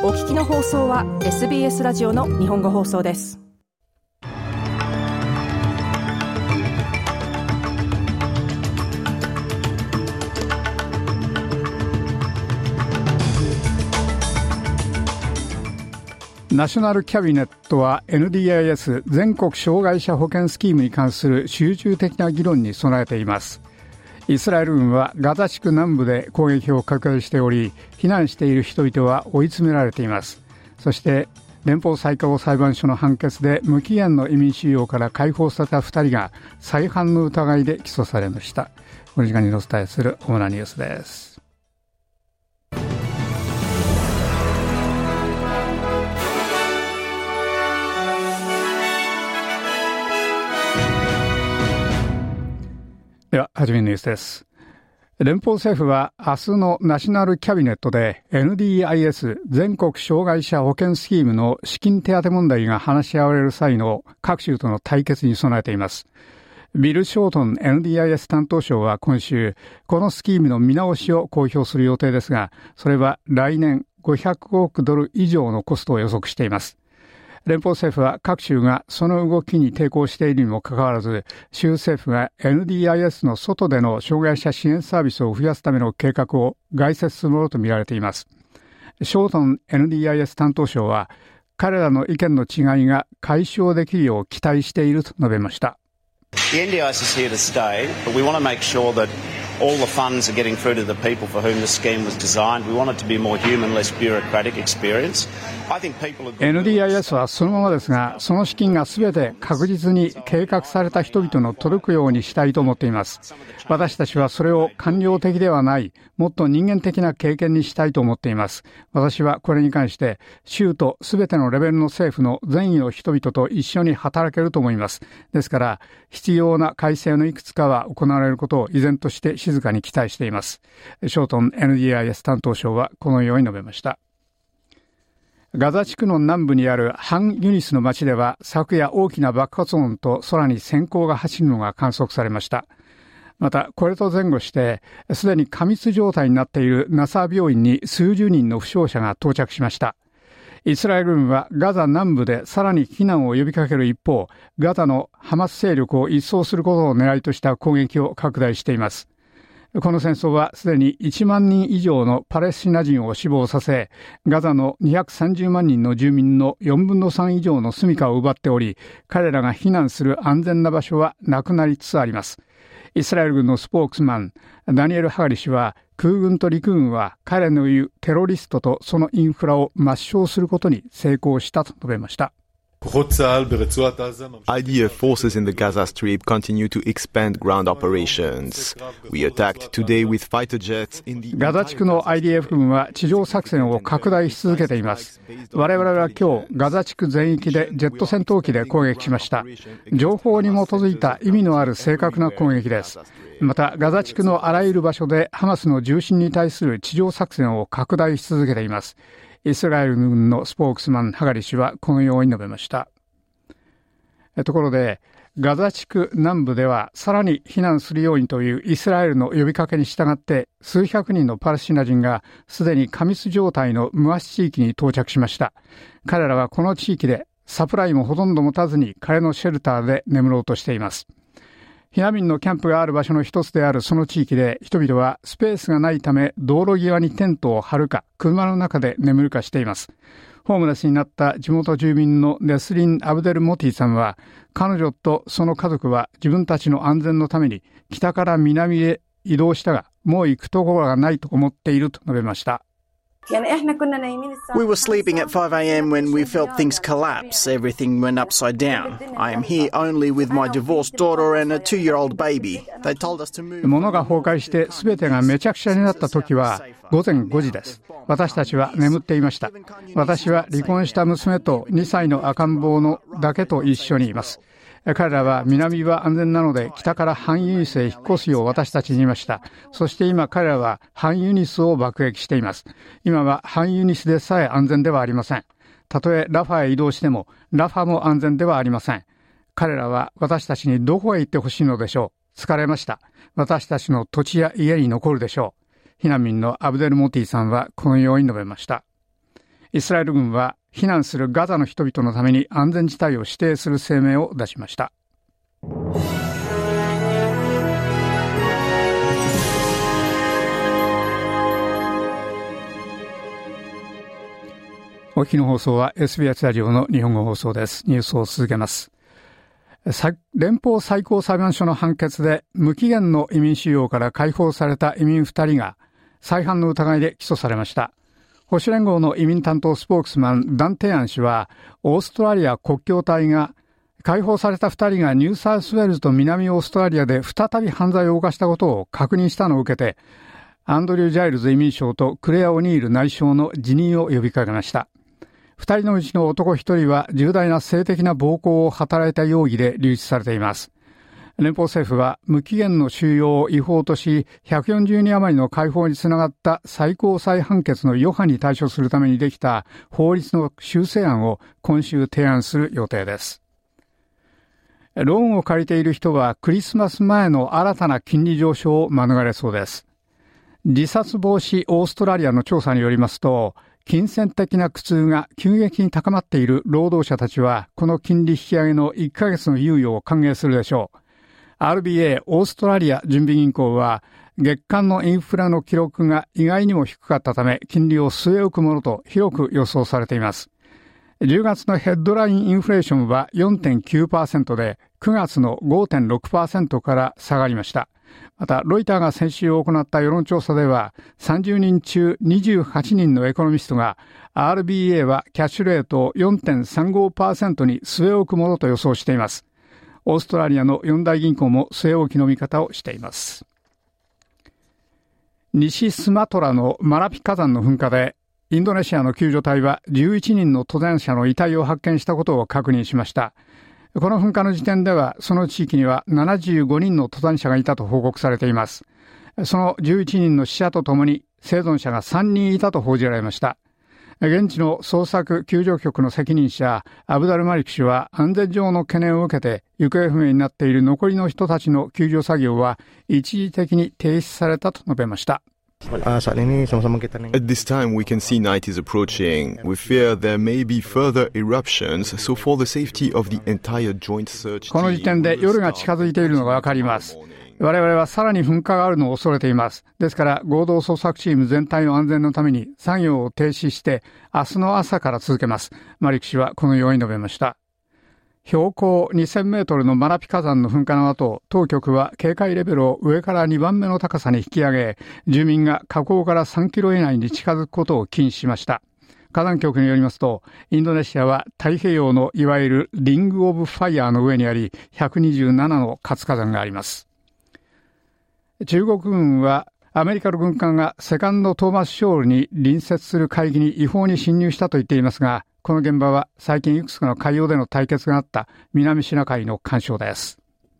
お聞きの放送は SBS ラジオの日本語放送です。 ナショナルキャビネットは NDIS 全国障害者保険スキームに関する集中的な議論に備えています。イスラエル軍はガザ地区南部で攻撃を拡大しており、避難している人々は追い詰められています。そして連邦最高裁判所の判決で無期限の移民収容から解放された2人が再犯の疑いで起訴されました。この時間にお伝えする主なニュースです。では初めのニュースです。連邦政府は明日のナショナルキャビネットで NDIS 全国障害者保険スキームの資金手当問題が話し合われる際の各州との対決に備えています。ビル・ショートン NDIS 担当相は今週、このスキームの見直しを公表する予定ですが、それは来年500億ドル以上のコストを予測しています。連邦政府は各州がその動きに抵抗しているにもかかわらず、州政府が NDIS の外での障害者支援サービスを増やすための計画を概説するものとみられています。ショートン NDIS 担当相は、彼らの意見の違いが解消できるよう期待していると述べました。 The NDIS is here to stay, but we want to make sure that all the funds are getting through to the people for whom the scheme was designed. We want it to be a more human, less bureaucratic experience. NDIS はそのままですが、その資金がすべて確実に計画された人々の届くようにしたいと思っています。私たちはそれを官僚的ではない、もっと人間的な経験にしたいと思っています。私はこれに関して、州とすべてのレベルの政府の善意の人々と一緒に働けると思います。ですから、必要な改正のいくつかは行われることを依然として静かに期待しています。ショートン NDIS 担当相はこのように述べました。ガザ地区の南部にあるハンユニスの町では昨夜大きな爆発音と空に閃光が走るのが観測されました。またこれと前後してすでに過密状態になっているナサー病院に数十人の負傷者が到着しました。イスラエル軍はガザ南部でさらに避難を呼びかける一方、ガザのハマス勢力を一掃することを狙いとした攻撃を拡大しています。この戦争はすでに1万人以上のパレスチナ人を死亡させ、ガザの230万人の住民の4分の3以上の住処を奪っており、彼らが避難する安全な場所はなくなりつつあります。イスラエル軍のスポークスマン、ダニエル・ハガリ氏は、空軍と陸軍は彼の言うテロリストとそのインフラを抹消することに成功したと述べました。 IDF forces in the Gaza Strip continue to expand ground operations. We attacked today with fighter jets in the ガザ地区の IDF 軍は地上作戦を拡大し続けています。我々は今日ガザ地区全域でジェット戦闘機で攻撃しました。情報に基づいた意味のある正確な攻撃です。またガザ地区のあらゆる場所でハマスの重心に対する地上作戦を拡大し続けています。イスラエル軍のスポークスマンハガリ氏はこのように述べました。ところでガザ地区南部ではさらに避難するようにというイスラエルの呼びかけに従って数百人のパレスチナ人がすでに過密状態のムアシ地域に到着しました。彼らはこの地域でサプライもほとんど持たずに彼のシェルターで眠ろうとしています。避難民のキャンプがある場所の一つであるその地域で人々はスペースがないため道路際にテントを張るか車の中で眠るかしています。ホームレスになった地元住民のネスリン・アブデル・モティさんは彼女とその家族は自分たちの安全のために北から南へ移動したがもう行くところがないと思っていると述べました。 We were sleeping at 5 a.m. when we felt things collapse. Everything went upside down. I am here only with my divorced daughter and a 2-year-old baby. They told us to move. 物が崩壊して全てがめちゃくちゃになった時は午前5時です。私たちは眠っていました。私は離婚した娘と2歳の赤ん坊のだけと一緒にいます。彼らは南は安全なので北からハンユニスへ引っ越すよう私たちに言いました。そして今彼らはハンユニスを爆撃しています。今はハンユニスでさえ安全ではありません。たとえラファへ移動してもラファも安全ではありません。彼らは私たちにどこへ行ってほしいのでしょう。疲れました。私たちの土地や家に残るでしょう。避難民のアブデル・モティさんはこのように述べました。 イスラエル軍は避難するガザの人々のために安全地帯を指定する声明を出しました。お聞きの放送は SBS ラジオの日本語放送です。ニュースを続けます。連邦最高裁判所の判決で無期限の移民収容から解放された移民2人が再犯の疑いで起訴されました。保守連合の移民担当スポークスマンダン・テアン氏は、オーストラリア国境隊が解放された2人がニューサウスウェールズと南オーストラリアで再び犯罪を犯したことを確認したのを受けて、アンドリュー・ジャイルズ移民相とクレア・オニール内相の辞任を呼びかけました。2人のうちの男1人は重大な性的な暴行を働いた容疑で留置されています。連邦政府は無期限の収容を違法とし、140人余りの解放につながった最高裁判決の余波に対処するためにできた法律の修正案を今週提案する予定です。ローンを借りている人はクリスマス前の新たな金利上昇を免れそうです。自殺防止オーストラリアの調査によりますと、金銭的な苦痛が急激に高まっている労働者たちは、この金利引き上げの1ヶ月の猶予を歓迎するでしょう。RBA オーストラリア準備銀行は、月間のインフラの記録が意外にも低かったため、金利を据え置くものと広く予想されています。10月のヘッドラインインフレーションは 4.9% で、9月の 5.6% から下がりました。また、ロイターが先週行った世論調査では、30人中28人のエコノミストが、RBA はキャッシュレートを 4.35% に据え置くものと予想しています。オーストラリアの4大銀行も据え置きの見方をしています。西スマトラのマラピ火山の噴火で、インドネシアの救助隊は11人の登山者の遺体を発見したことを確認しました。この噴火の時点では、その地域には75人の登山者がいたと報告されています。その11人の死者とともに生存者が3人いたと報じられました。現地の捜索救助局の責任者、アブダル・マリク氏は安全上の懸念を受けて、行方不明になっている残りの人たちの救助作業は一時的に停止されたと述べました。 At this time, we can see night is approaching. We fear there may be further eruptions, so for the safety of the entire joint search team... この時点で夜が近づいているのがわかります。我々はさらに噴火があるのを恐れています。ですから合同捜索チーム全体の安全のために作業を停止して明日の朝から続けます。マリク氏はこのように述べました。標高2000メートルのマラピ火山の噴火の後、当局は警戒レベルを上から2番目の高さに引き上げ、住民が火口から3キロ以内に近づくことを禁止しました。火山局によりますと、インドネシアは太平洋のいわゆるリングオブファイヤーの上にあり、127の活火山があります。中国軍はアメリカの軍艦がセカンドトーマスショールに隣接する海域に違法に侵入したと言っていますが、この現場は最近いくつかの海洋での対決があった南シナ海の環礁です。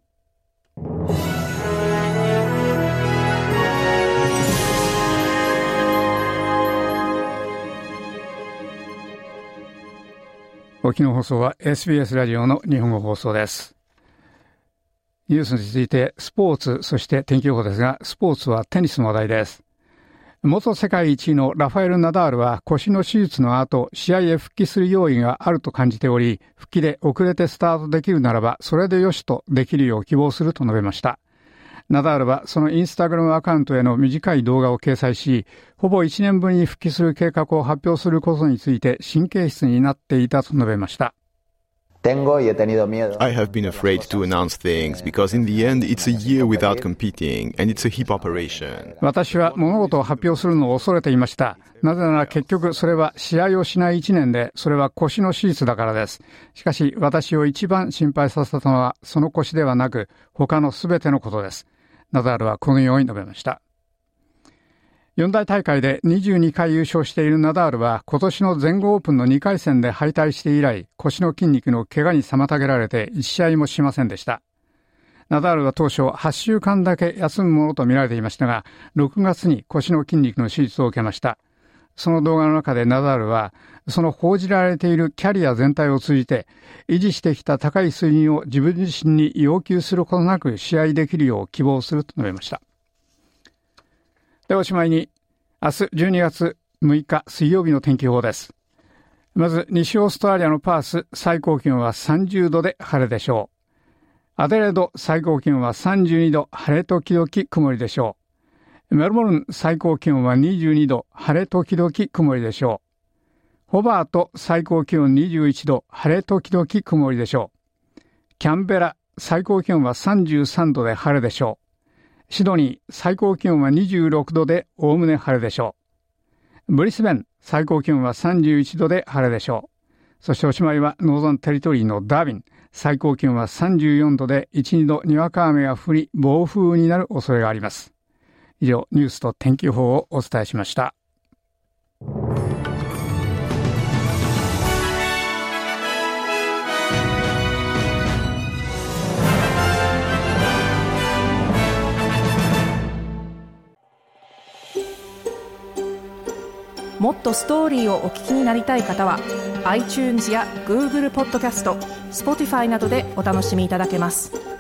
お聞きの放送は SBS ラジオの日本語放送です。ニュースに続いてスポーツ、そして天気予報ですが、スポーツはテニスの話題です。元世界一位のラファエル・ナダールは腰の手術の後、試合へ復帰する用意があると感じており、復帰で遅れてスタートできるならば、それでよしとできるよう希望すると述べました。ナダールはそのインスタグラムアカウントへの短い動画を掲載し、ほぼ1年ぶりに復帰する計画を発表することについて神経質になっていたと述べました。 I have been afraid to announce things because in the end it's a year without competing and it's a hip operation. 私は物事を発表するのを恐れていました。なぜなら結局それは試合をしない1年で、それは腰の手術だからです。しかし私を一番心配させたのはその腰ではなく他のすべてのことです。ナダールはこのように述べました。四大大会で22回優勝しているナダールは今年の全豪オープンの2回戦で敗退して以来、腰の筋肉の怪我に妨げられて1試合もしませんでした。ナダールは当初8週間だけ休むものと見られていましたが、6月に腰の筋肉の手術を受けました。その動画の中でナダールは、その報じられているキャリア全体を通じて、維持してきた高い水準を自分自身に要求することなく試合できるよう希望すると述べました。で、おしまいに、明日12月6日水曜日の天気予報です。 まず西オーストラリアのパース、最高気温は30度で晴れでしょう。アデレード、最高気温は32度、晴れ時々曇りでしょう。メルボルン、最高気温は22度、晴れ時々曇りでしょう。ホバート、最高気温21度、晴れ時々曇りでしょう。キャンベラ、最高気温は33度で晴れでしょう。シドニー、最高気温は26度でおおむね晴れでしょう。ブリスベン、最高気温は31度で晴れでしょう。そしておしまいはノーザンテリトリーのダービン、最高気温は34度で 1,2 度にわか雨が降り暴風になる恐れがあります。以上、ニュースと天気予報をお伝えしました。 もっとストーリーをお聞きになりたい方は iTunes や Google ポッドキャスト、Spotify などでお楽しみいただけます。